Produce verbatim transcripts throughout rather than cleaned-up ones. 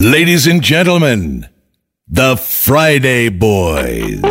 Ladies and gentlemen, the Friday Boys.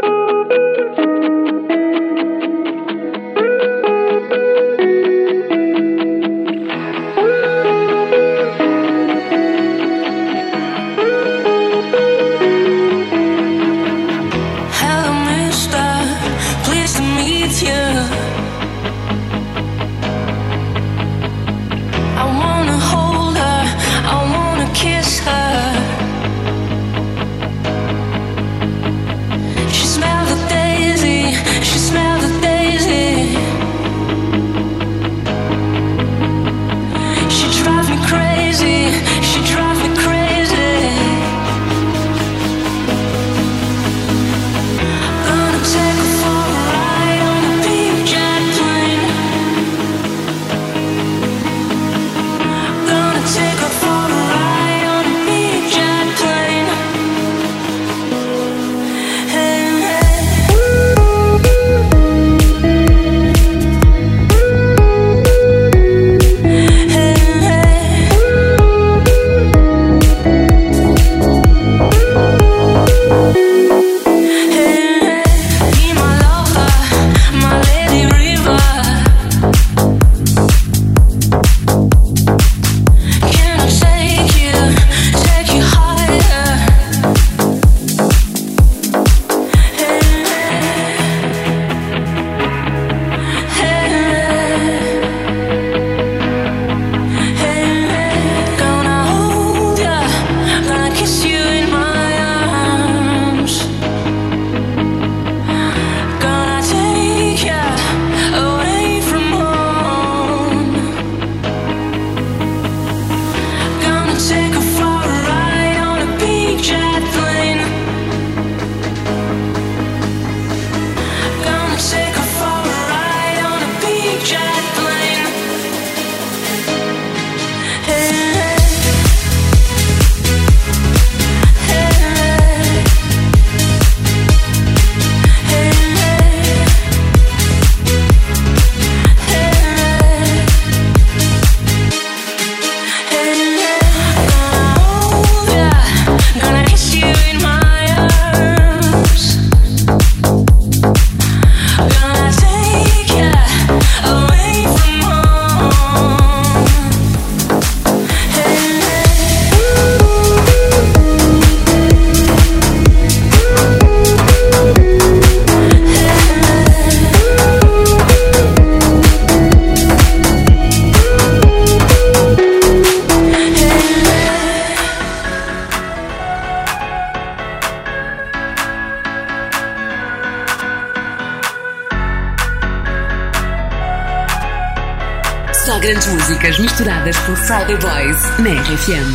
Só grandes músicas misturadas por Friday Boys na R F M.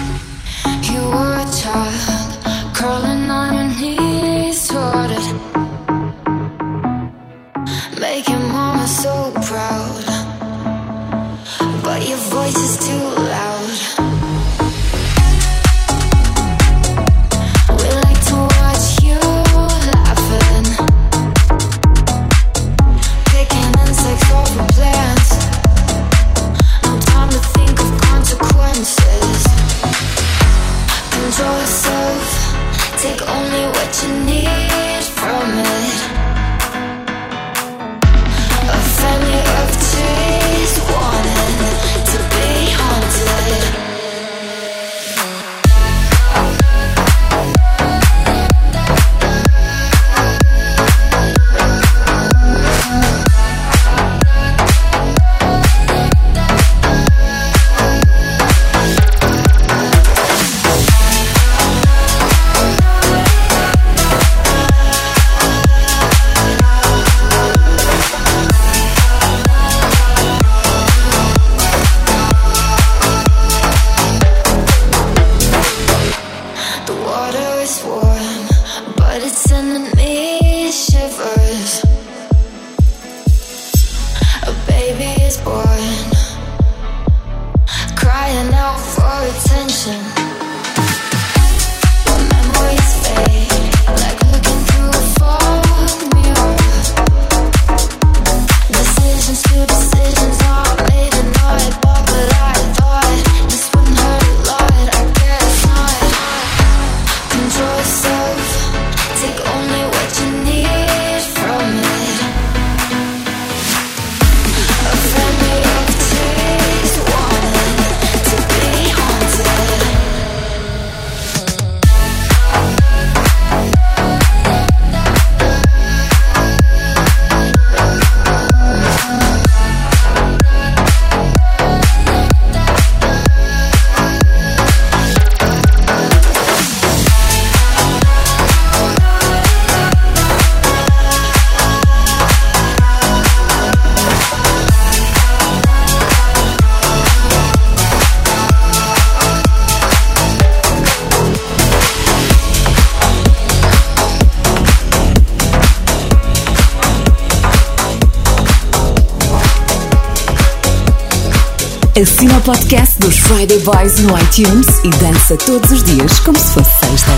You were a child, crawling on your knees toward it, making mama so proud, but your voice is too loud. We like to watch you laughing, picking insects off of plants. No time to think of consequences. Control yourself, take only what you need from it. A family of trees wanted to be haunted. Assina o podcast dos Friday Boys no iTunes e dança todos os dias como se fosse sexta.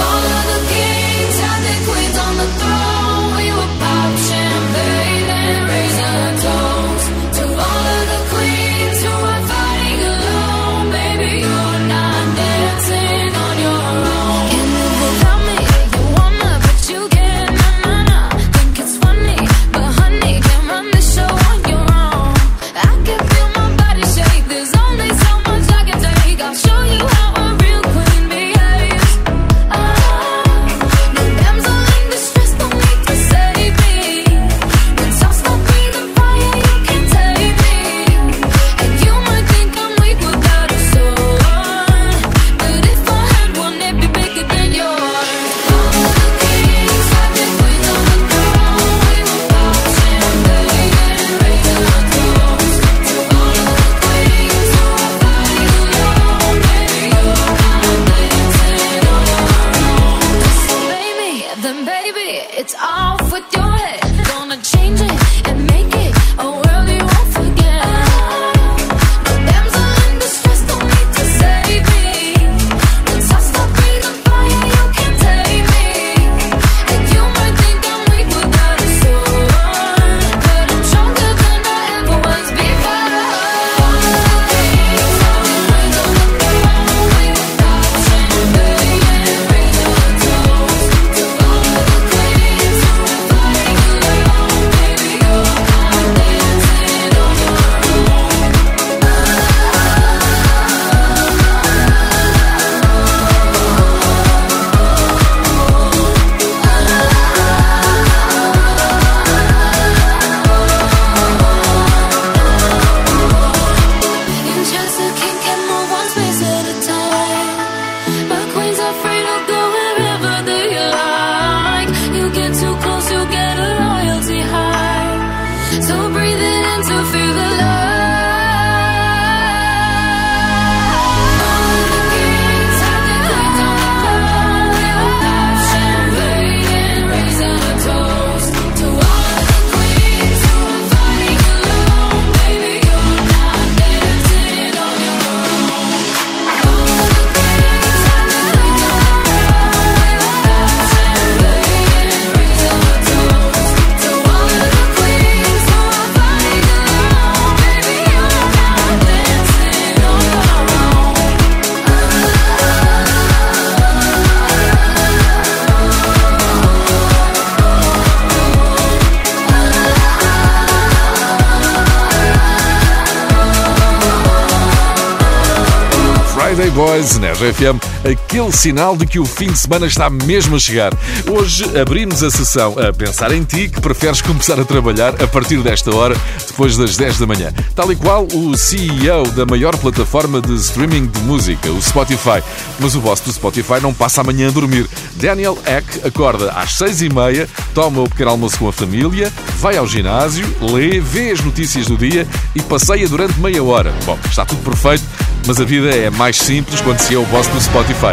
Friday Boys na R F M, aquele sinal de que o fim de semana está mesmo a chegar. Hoje abrimos a sessão a pensar em ti, que preferes começar a trabalhar a partir desta hora, depois das dez da manhã. Tal e qual o C E O da maior plataforma de streaming de música, o Spotify. Mas o boss do Spotify não passa amanhã a dormir. Daniel Ek acorda às seis e meia, toma o pequeno almoço com a família, vai ao ginásio, lê, vê as notícias do dia e passeia durante meia hora. Bom, está tudo perfeito, mas a vida é mais simples quando se é o boss do Spotify.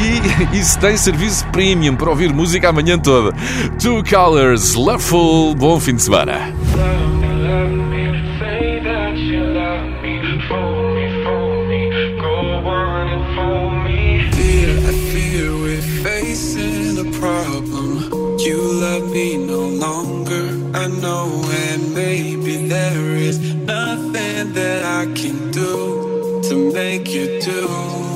E isso tem serviço premium para ouvir música a manhã toda. Two Colors, Loveful, bom fim de semana. You love me no longer, I know, and maybe there is nothing that I can do to make you do.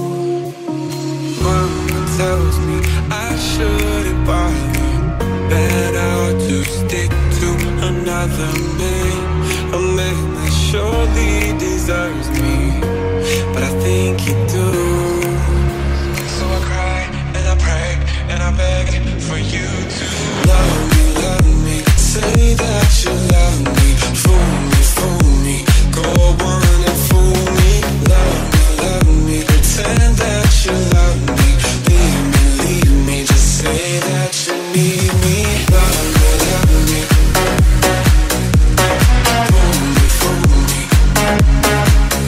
Mama tells me I shouldn't bother, better to stick to another man, a man that surely deserves me, but I think you do. So I cry and I pray and I beg for you to love me, love me, say that you love me, fool me, fool me, go on and fool me, love me, love me, pretend that you love me, leave me, leave me, just say that you need me, love me, love me, fool me, fool me,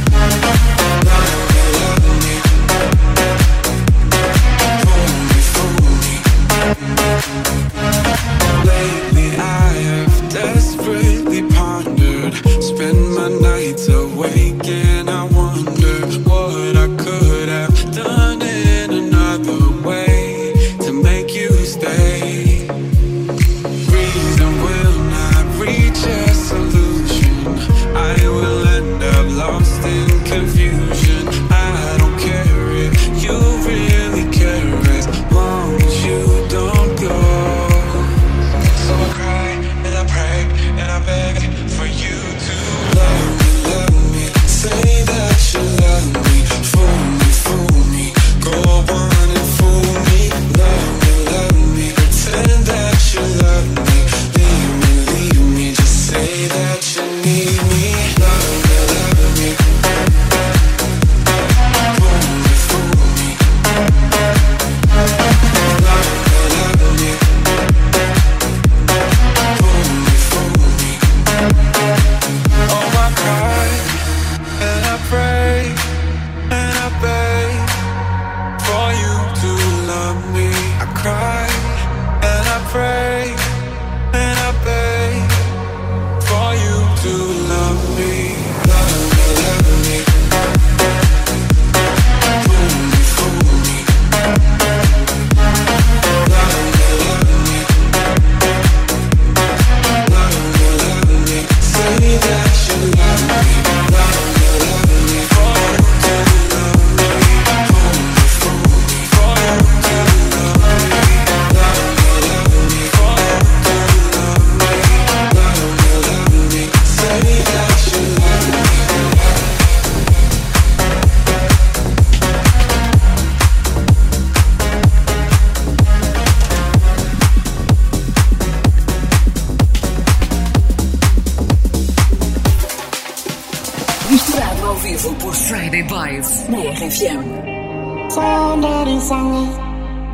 Friday Boys na R F M. Somebody sang it.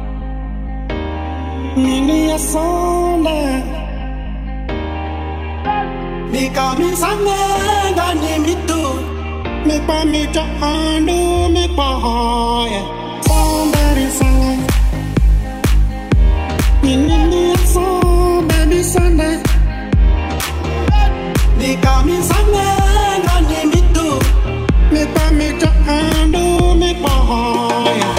Nini a song me kami sang gani mi tu me pa mi ta anu me pa hoya. Somebody sang it. Nini a song baby sang it. Me kami sang gani mi tu me pa mi ta anu me pa hoya.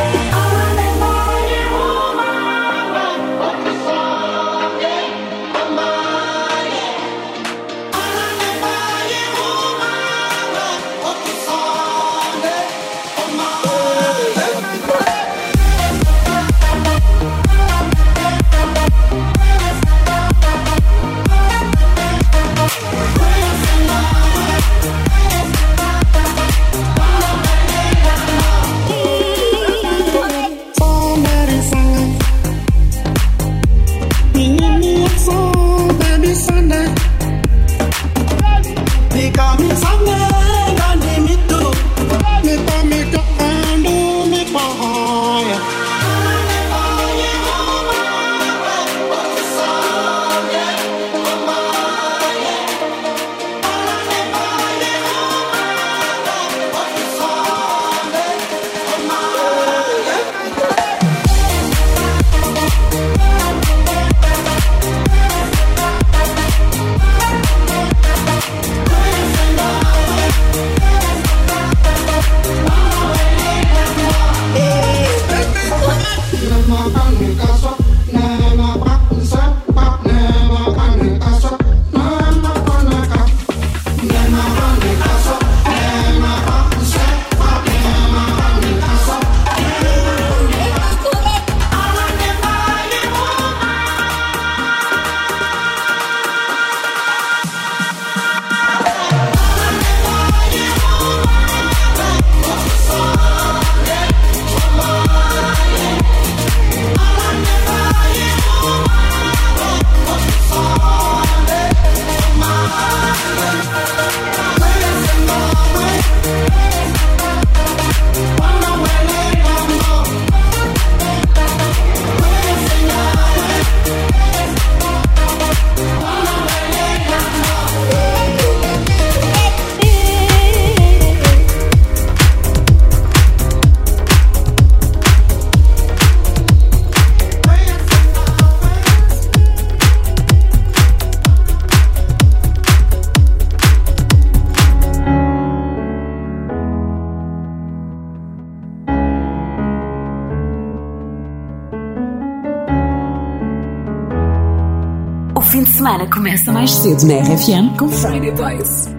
Fim de semana começa mais cedo na R F M com Friday Boys.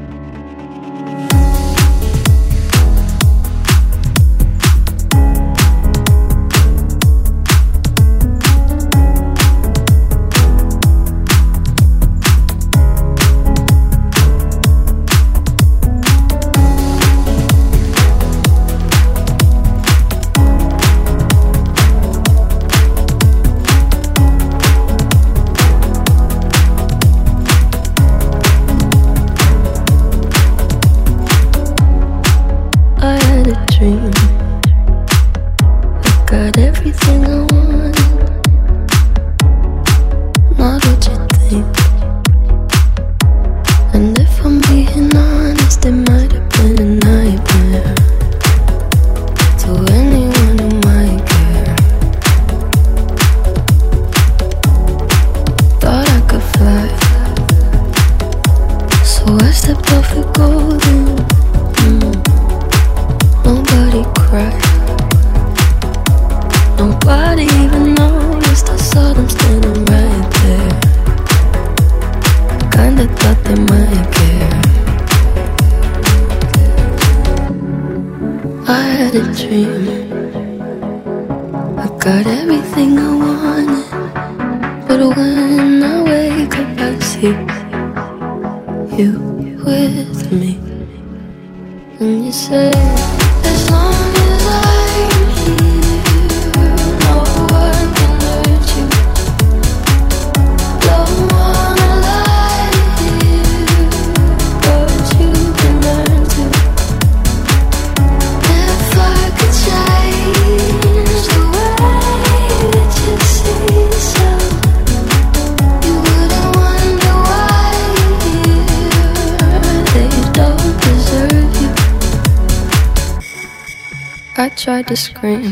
tried to scream,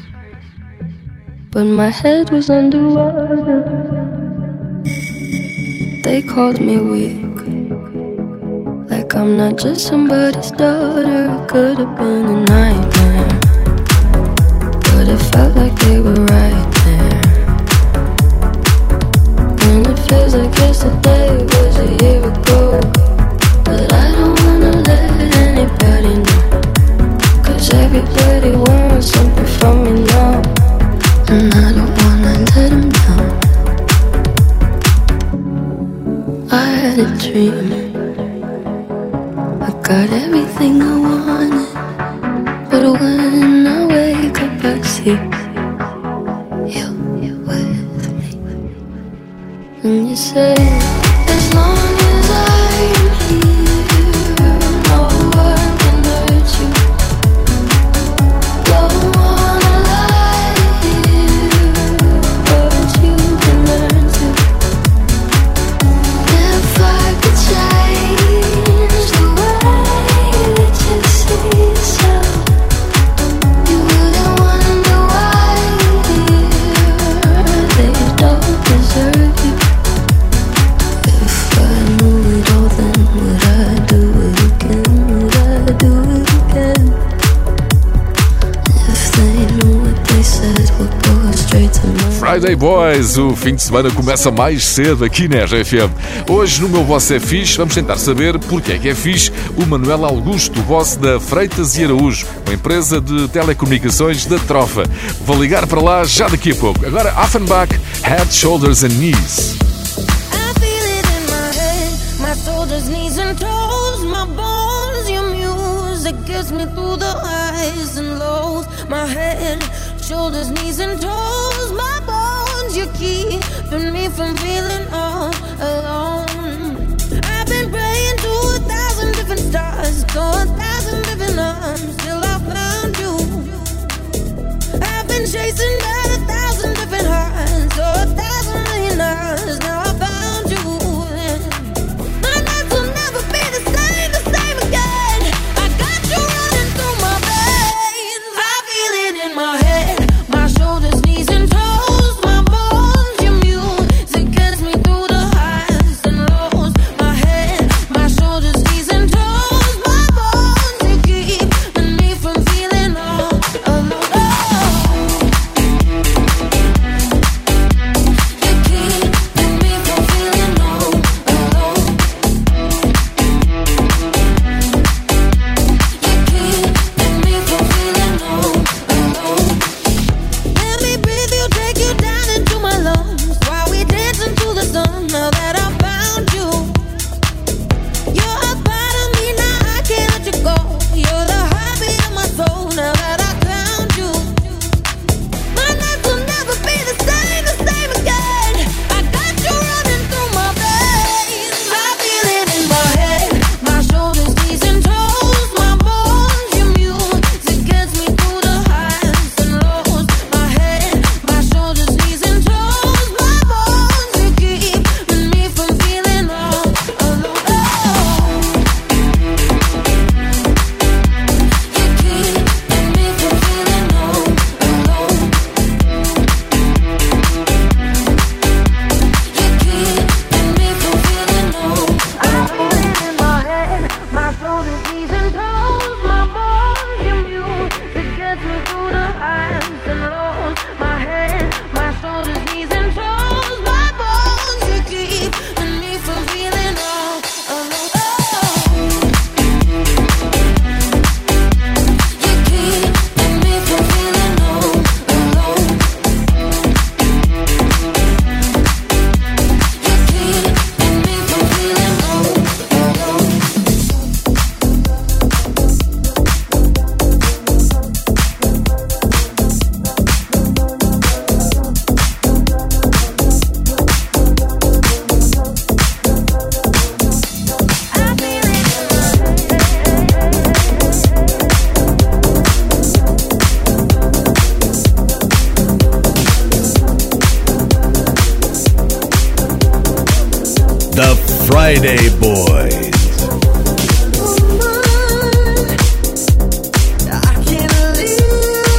but my head was underwater. They called me weak, like I'm not just somebody's daughter. It could have been a nightmare, but it felt like they were right there. And it feels like yesterday was a year ago, but I don't wanna let anybody know, 'cause everybody wants something from me now, and I don't wanna let them down. I had a dream, I got everything I wanted, but when I wake up I see you, you with me. And you say, as long as I am here, no one can hurt you. Don't wanna lie here, but you can learn to. If I could change the way that you see yourself, you wouldn't wonder why they don't deserve you. If I knew it all, then would I do it again? Would I do it again? If they knew what they said would go straight to my Friday Boys, o fim de semana começa mais cedo aqui na R F M. Hoje no meu Você é Fixe vamos tentar saber porque é que é fixe o Manuel Augusto, boss da Freitas e Araújo, uma empresa de telecomunicações da Trofa. Vou ligar para lá já daqui a pouco. Agora Offenbach, Head, Shoulders and Knees. I feel it in my head, my shoulders, knees and toes, my bones, your music gets me through the highs and lows. My head, shoulders, knees and toes, my bones, you keeping me from feeling all alone. I've been praying to a thousand different stars, to a thousand different arms, till I found you. I've been chasing down a thousand different hearts, to a thousand million hours, now I found you. My nights will never be the same, the same again. I got you running through my veins. I feel it in my head, my shoulders, knees and toes, my bones, your music gets me through the highs and lows. My head, my shoulders, knees and toes, my bones, you keeping me from feeling all alone. You keeping me from feeling all alone. You keeping me from feeling all alone. Let me breathe you, take you down into my lungs, while we dance into the sun. Now that I found you, you're a part of me, now I can't let you go. You're the heartbeat of my soul, now that I found you. My nights will never be the same, the same again. I got you running through my veins. I feel it in my head, my shoulders, knees and toes, my bones, your music gets me through the highs and lows. My head, my shoulders, knees and toes, my bones, you keeping me from feeling all alone. You keeping me from feeling all alone. You keeping me from feeling all. I feel it in my head, my shoulders, knees and toes, my bones, your music gets me through the highs and lows. My head, my shoulders, knees and toes, my bones, you keeping me from feeling all alone. You keeping me from feeling all alone. You keeping me from feeling all alone. I feel it The Friday Boys. I can't leave.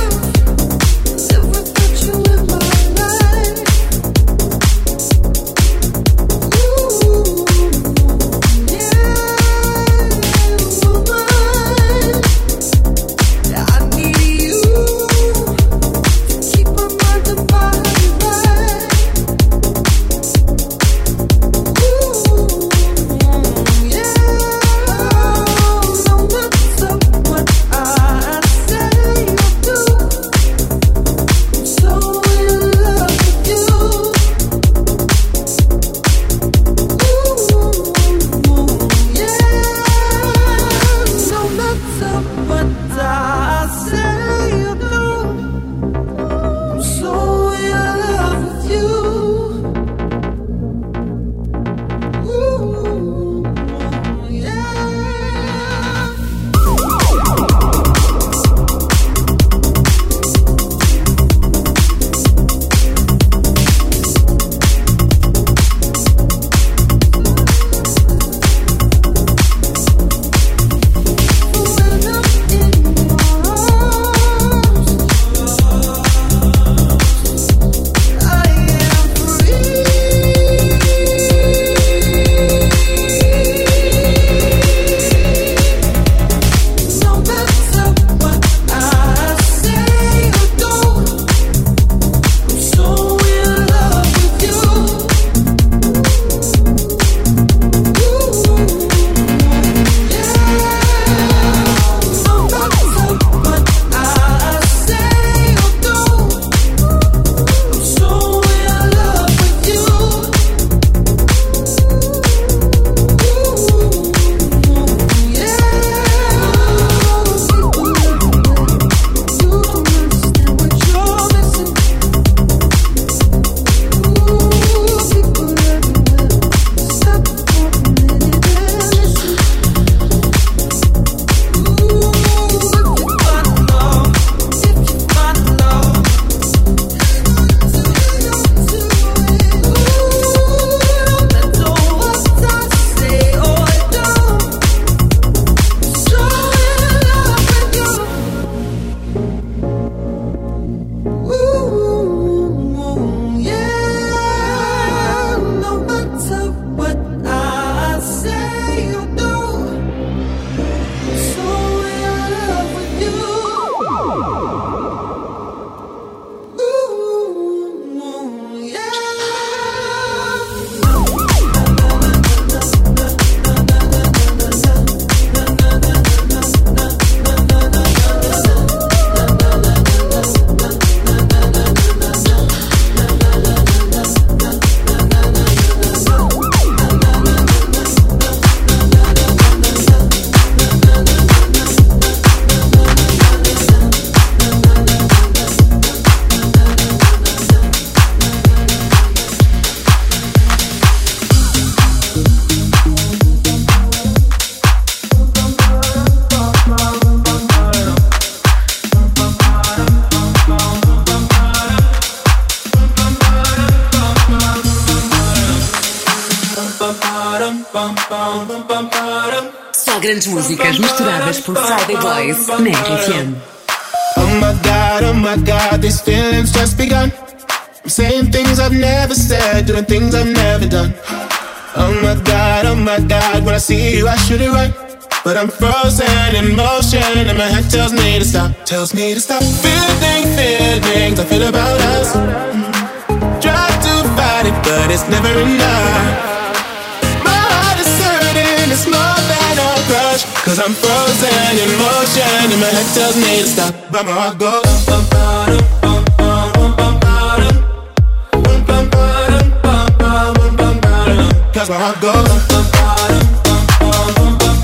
grandes músicas misturadas por Friday Boys na R F M. Oh my God, oh my God, these feelings just begun. I'm saying things I've never said, doing things I've never done. Oh my God, oh my God, when I see you I shoot it right, but I'm frozen in motion and my head tells me to stop, tells me to stop. Feeling, feelings I feel about us. Try to fight it, but it's never enough. My heart is hurting, it's more than a crush, cause I'm frozen in motion and my head tells me to stop, but my heart goes bum, bum, bum, bum, bum, bum, bum, bum, bum, bum, cause my heart goes bum, bum, bum, bum, bum,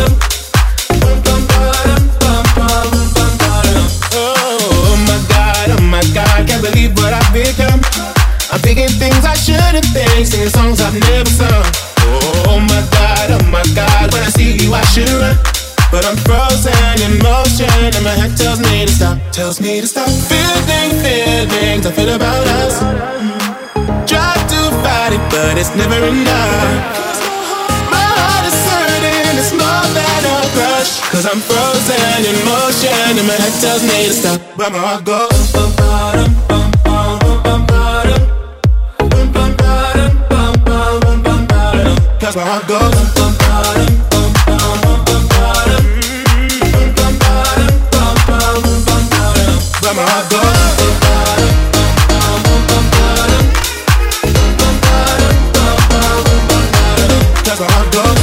bum, oh my God, oh my God, can't believe what I've become. I'm thinking things I shouldn't think, singing songs I've never sung. Oh my God, oh my God, when I see you I should run, but I'm frozen in motion and my head tells me to stop, tells me to stop. Feeling, feelings I feel about us. Try to fight it, but it's never enough. My heart is hurting, it's more than a crush, cause I'm frozen in motion and my head tells me to stop, but my heart goes bum, bum, bum, bum, bum, bum, bum, bum, bum, bum, cause my heart goes bum, bum, bum, bum, bum, bum, bum, but my heart goes cause my heart goes.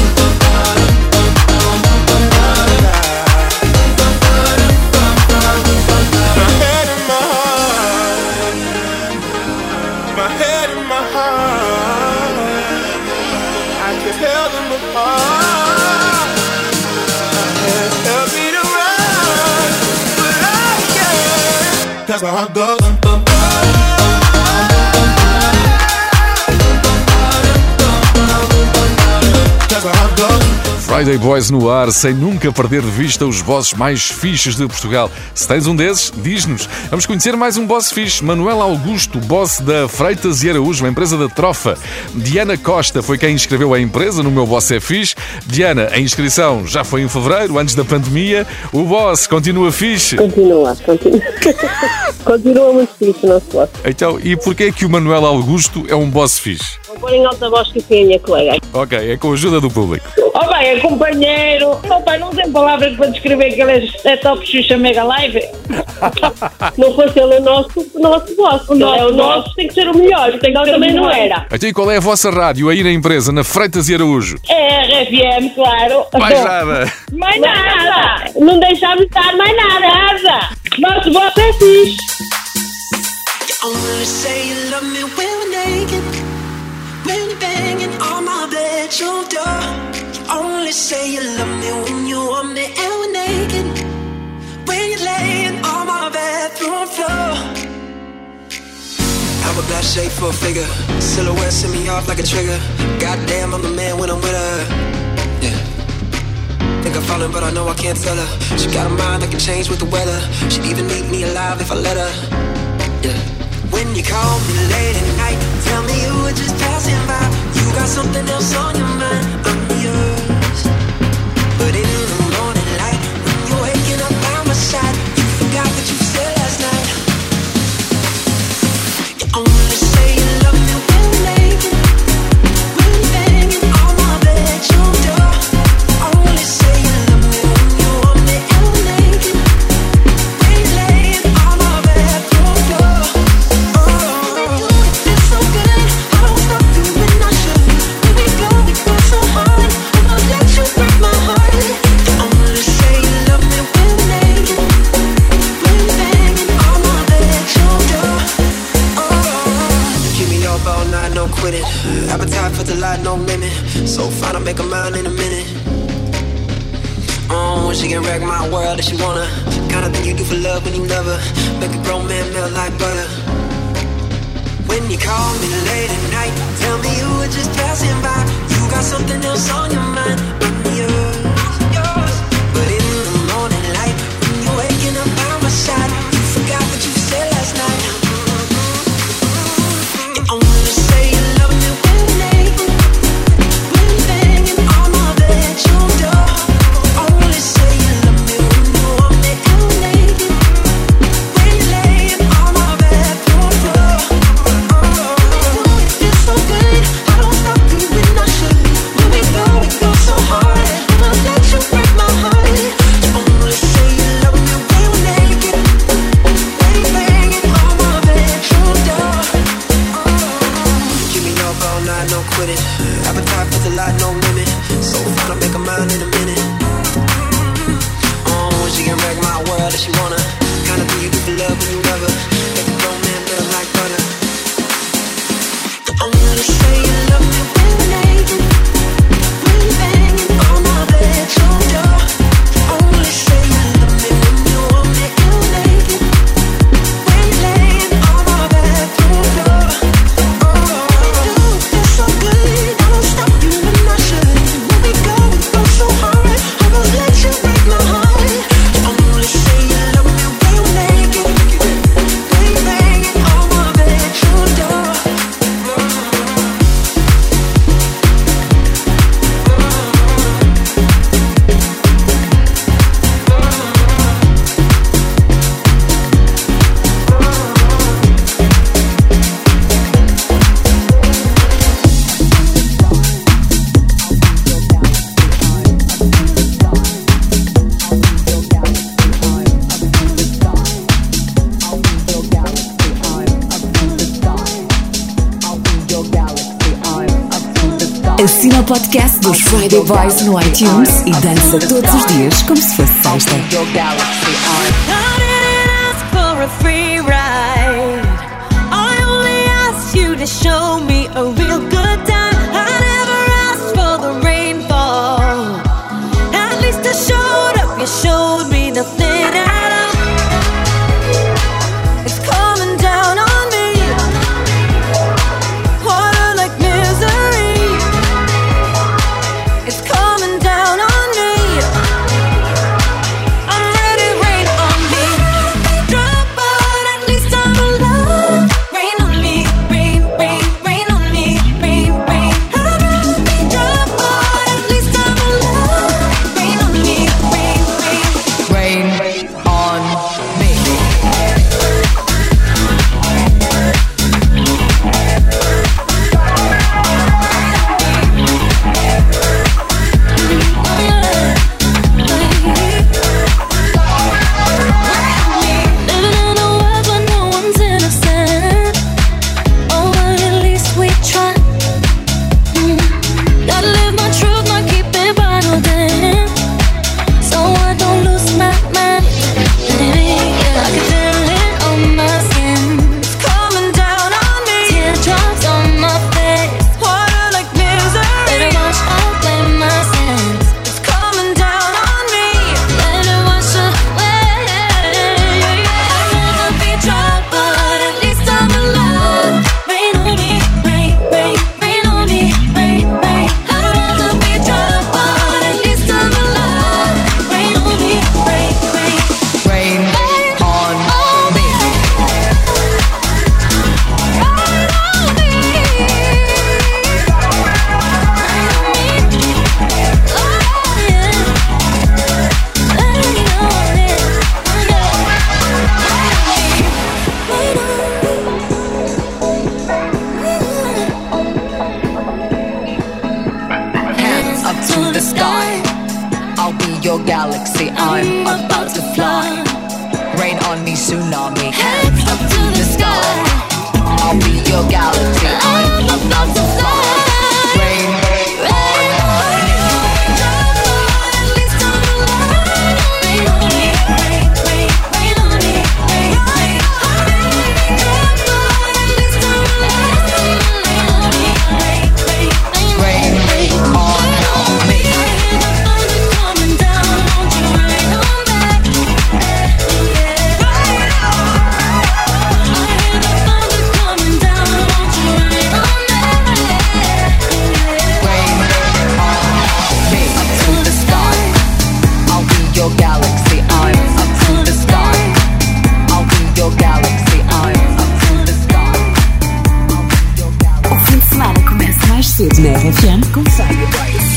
My head and my heart, my head and my heart, I just held them apart. My head held me to run, but I can't, cause my heart goes. Friday Boys no ar, sem nunca perder de vista os bosses mais fixes de Portugal. Se tens um desses, diz-nos. Vamos conhecer mais um boss fixe, Manuel Augusto, boss da Freitas e Araújo, uma empresa da Trofa. Diana Costa foi quem inscreveu a empresa no Meu Boss é Fixe. Diana, a inscrição já foi em fevereiro, antes da pandemia. O boss continua fixe? Continua, continua. Continua muito fixe o nosso boss. Então, e porquê é que o Manuel Augusto é um boss fixe? Vou pôr em alta voz que sim, a minha colega. Ok, é com a ajuda do público. Oh bem, é companheiro. Oh pai, não tem palavras para descrever aquele setup Xuxa Mega Live. Não fosse ele o nosso, o nosso boss. O nosso, é o nosso tem que ser o melhor, tem que ser também não era. Então e qual é a vossa rádio aí na empresa, na Freitas e Araújo? É R F M, claro. Mais nada. Mais nada. Não deixamos estar mais nada, Asa. Nosso boss é fixe. I wanna say you love me when we're naked, when you're banging on my bedroom door. You only say you love me when you want me and we're naked, when you're laying on my bathroom floor. Hourglass shape for a figure, silhouette set me off like a trigger. Goddamn, I'm the man when I'm with her. Yeah. Think I'm falling, but I know I can't tell her. She got a mind that can change with the weather. She'd even eat me alive if I let her. Yeah. When you call me late at night, tell me you were just passing by. You got something else on your mind, I'm yours. But in the morning light, when you're waking up by my side, you forgot what you said last night. You only say you love me when we're naked, when you're banging on my bedroom door. You only say you love me when you want me and we're naked, when you're laying on my bedroom floor. Appetite for delight, no limit. So fine, I'll make a mile in a minute. Oh, she can wreck my world if she wanna. Kinda thing you do for love when you never make a grown man melt like butter. When you call me late at night, tell me you were just passing by. You got something else on your mind, I'm yours, yours. But in the morning light, when you're waking up by my side, you forgot what you said last night. You only say you love me when you're naked, when you're banging on my bedroom door. Assina o podcast dos Friday Boys no iTunes e dança todos os dias como se fosse sexta. Show me a real good time. I never asked for the rainfall. At least I showed up. You showed me nothing at all. It's coming down on me. Water like misery. It's coming down on me. I'm ready, rain on me. Drop, but at least I'm alive. Rain on me. Cedo na R F M com Friday Boys.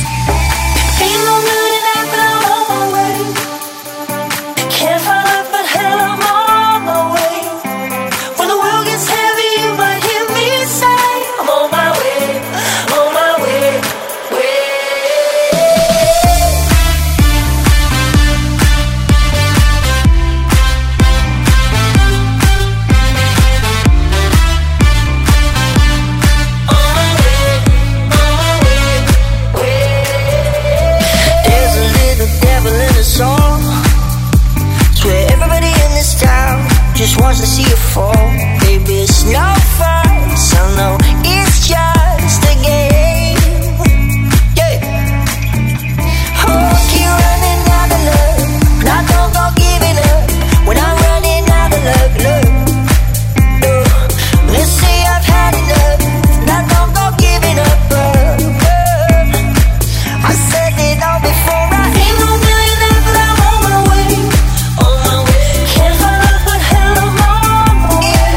Wants to see you fall, baby. It's no fun, so no, it's just a game. Yeah. Oh, keep running out of love, but I don't go giving up. When I'm running out of love, love. No. Let's say I've had enough, and I don't go giving up. Love, love. I said it all before. I ain't no millionaire, but I'm on my way, on my way. Can't find love, but hell, I'm on my way. Yeah.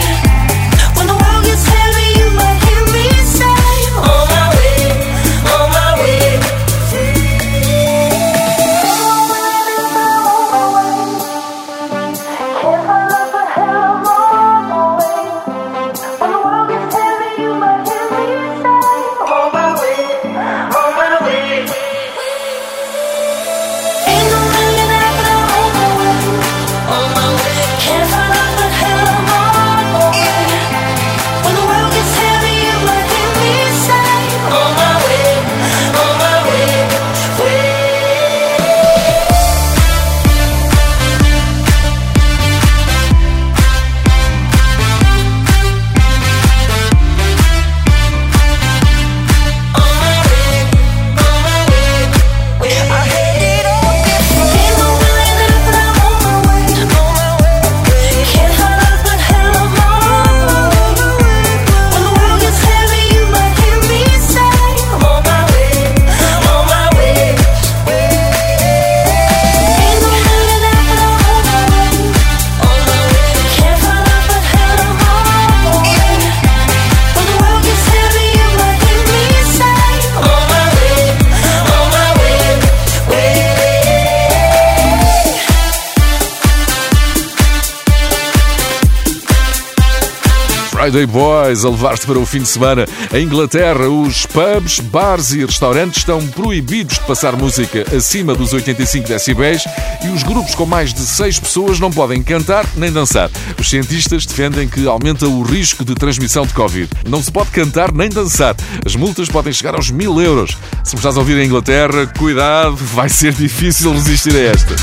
Friday Boys a levar-te para o fim de semana. Em Inglaterra, os pubs, bares e restaurantes estão proibidos de passar música acima dos oitenta e cinco decibéis e os grupos com mais de seis pessoas não podem cantar nem dançar. Os cientistas defendem que aumenta o risco de transmissão de Covid. Não se pode cantar nem dançar. As multas podem chegar aos mil euros. Se me estás a ouvir em Inglaterra, cuidado, vai ser difícil resistir a esta.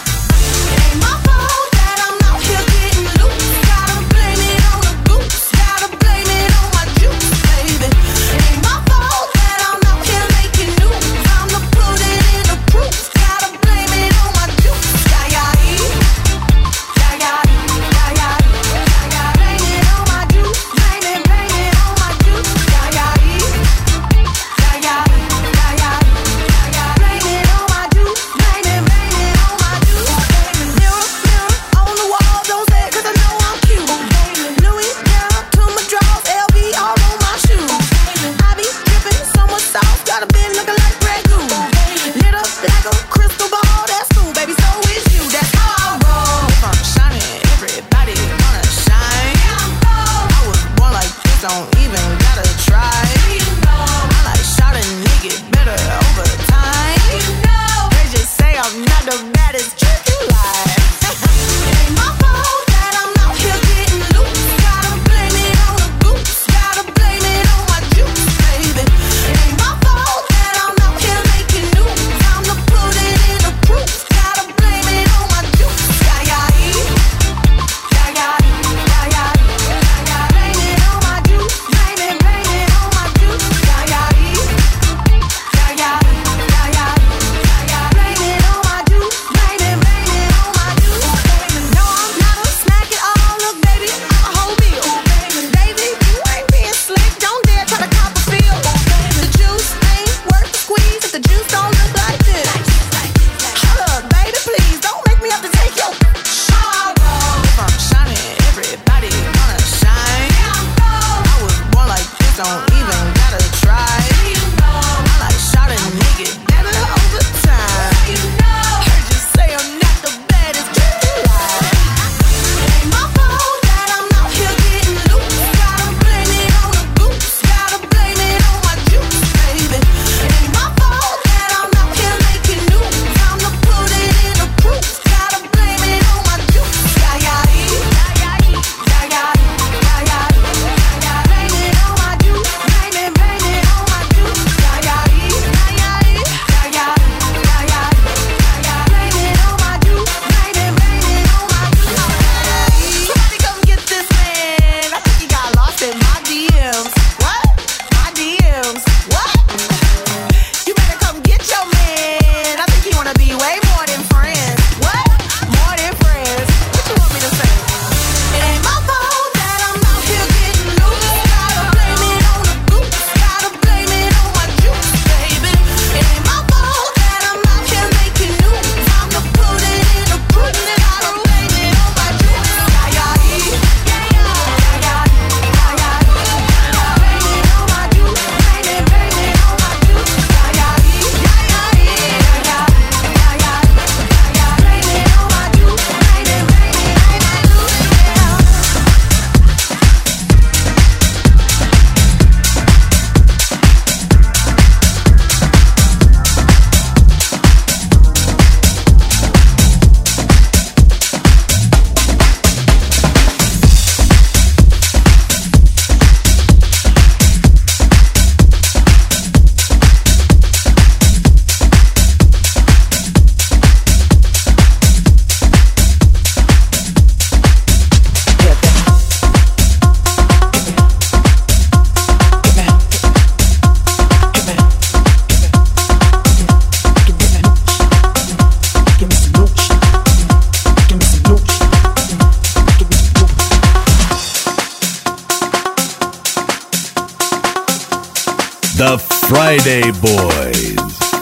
The Friday Boys.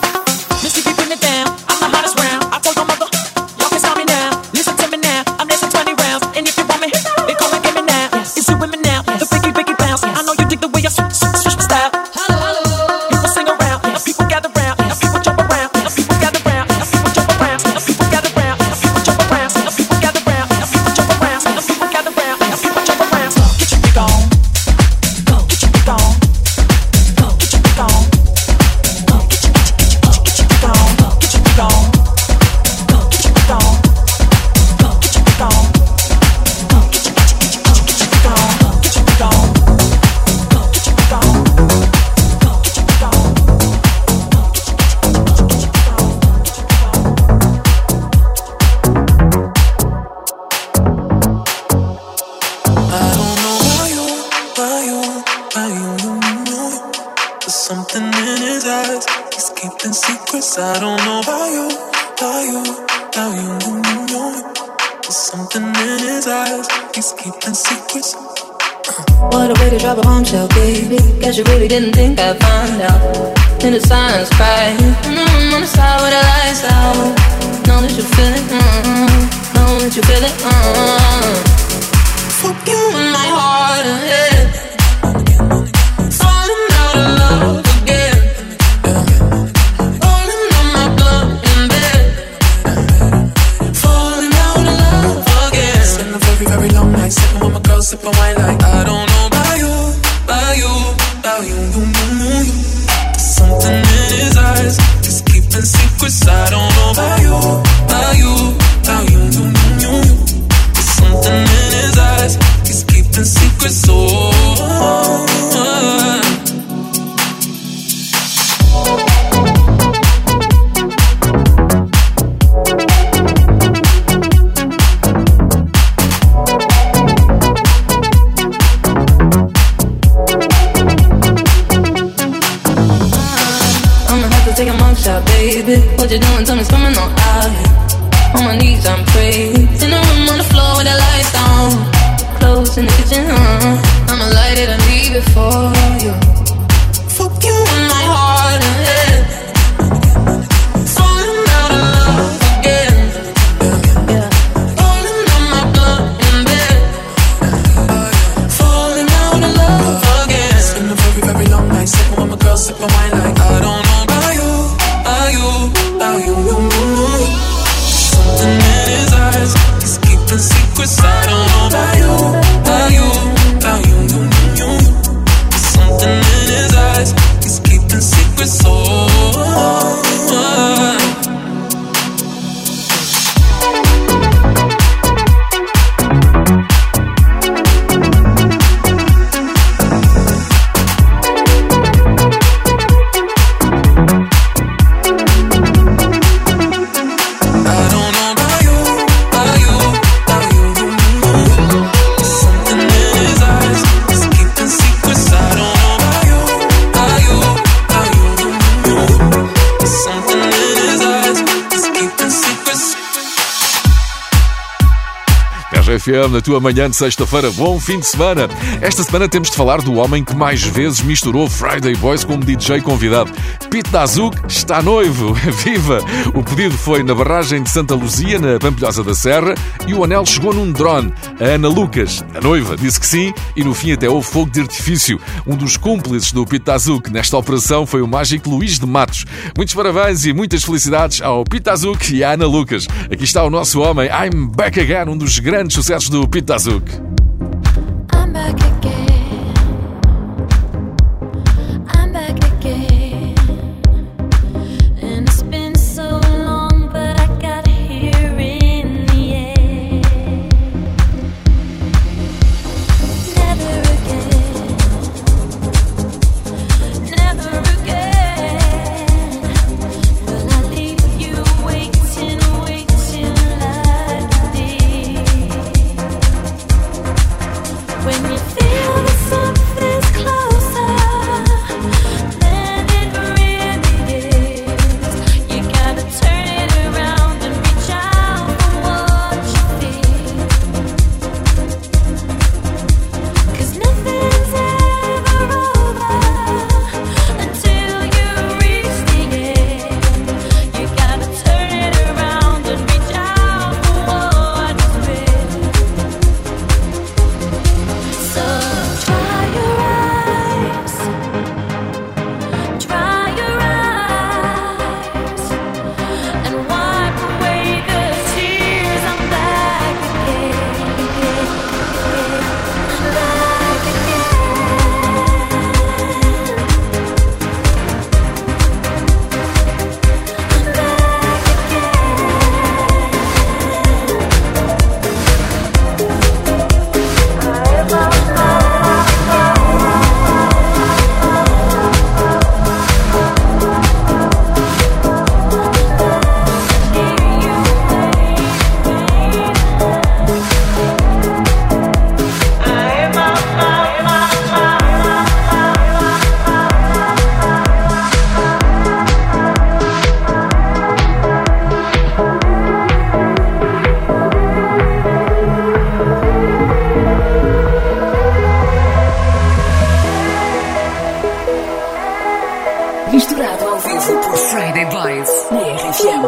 Missy be putting it down. I'm the hottest round. I told my mother, y'all can stop me now. Listen to me now. I'm dancing twenty rounds, and if you want me, they call and give me now. Yes. It's you with me now. Yes. The biggie biggie bounce. Yes. I know you dig the way I switch, switch, switch my style. Hello, hello. People sing around, yes. And people gather round, yes. And people jump around, and people gather round, and people jump around, and people gather round, and people jump around, and people gather round, and people jump around, and people gather round, and people jump around. So get your freak on. about you, about you, you, you. There's something in his eyes, he's keeping secrets. I don't know about you, about you, about you, you, you. There's something in his eyes, he's keeping secrets. What a way to drop a bombshell, baby. Guess you really didn't think I'd find out. In the silence, crying, mm-hmm, on the side with the lights out. Know that you feel it, mm-hmm. Know that you feel it, mm-hmm. Fuck you in my heart and head. Falling out of love again. Falling on my blood in bed. Falling out of love again. Spend a very, very long night sitting with my girl, sipping wine like I don't know about you, about you, about you, you, you, you, you. There's something in his eyes, he's keeping secrets. I don't know about you, about you, about you, you, you, you, you. There's something in his eyes, he's keeping secrets. Oh, oh, oh. Take a mug shot, baby. What you doing? Tell me, swimming on out here. On my knees, I'm praying. In the room on the floor with the lights down. Clothes in the kitchen, uh. I'ma light it and leave it for you. Fuck you in my heart and head. Falling out of love again. Yeah. Falling on my blood in bed. Falling out of love again. It's been a very, very long night sitting with my girl, sipping wine like I don't know. Something in his eyes, he's keeping secrets. I don't know about you, about you, about you, you, you, you. Something in his eyes, he's keeping secrets. Oh, oh, oh. F M, na tua manhã de sexta-feira. Bom fim de semana. Esta semana temos de falar do homem que mais vezes misturou Friday Boys como D J convidado. Pete Dazuc está noivo. Viva! O pedido foi na barragem de Santa Luzia, na Pampilhosa da Serra, e o anel chegou num drone. A Ana Lucas, a noiva, disse que sim, e no fim até houve fogo de artifício. Um dos cúmplices do Pete Dazuc nesta operação foi o mágico Luís de Matos. Muitos parabéns e muitas felicidades ao Pete Dazuc e à Ana Lucas. Aqui está o nosso homem, I'm Back Again, um dos grandes sucessos do Pete Dazuc. I'm back again. I'm back again. And it's been so long, but I got here in the end. Never again. Never again. Will I leave you waiting, waiting like this? Friday Boys na R F M.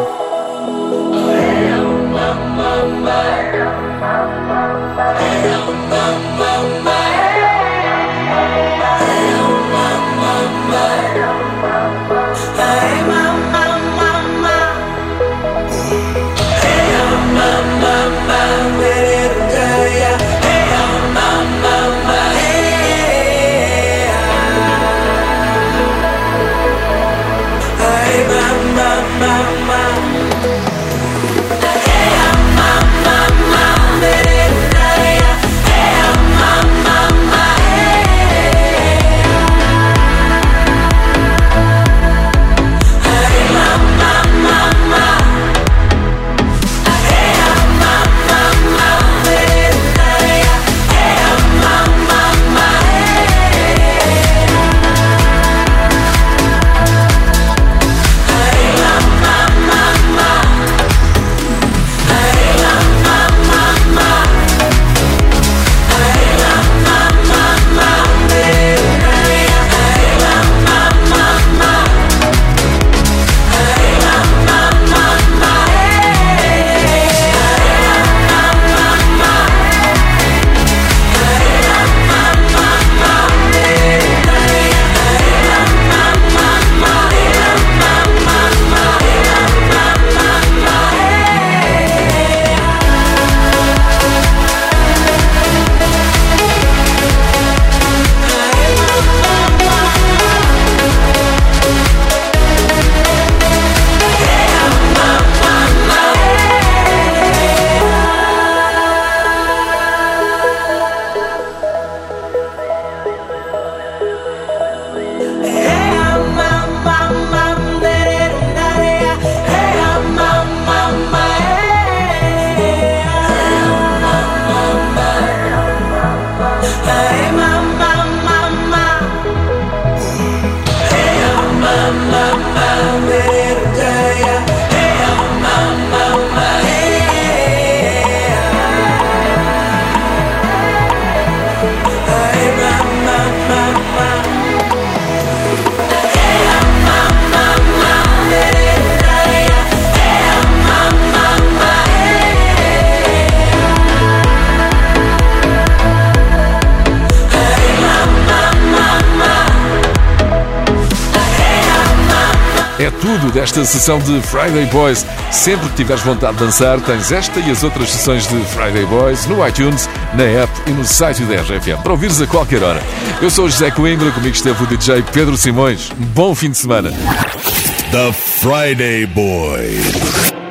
É tudo desta sessão de Friday Boys. Sempre que tiveres vontade de dançar, tens esta e as outras sessões de Friday Boys no iTunes, na app e no site da R F M, para ouvires a qualquer hora. Eu sou o José Coimbra, comigo esteve o D J Pedro Simões. Um bom fim de semana. The Friday Boys.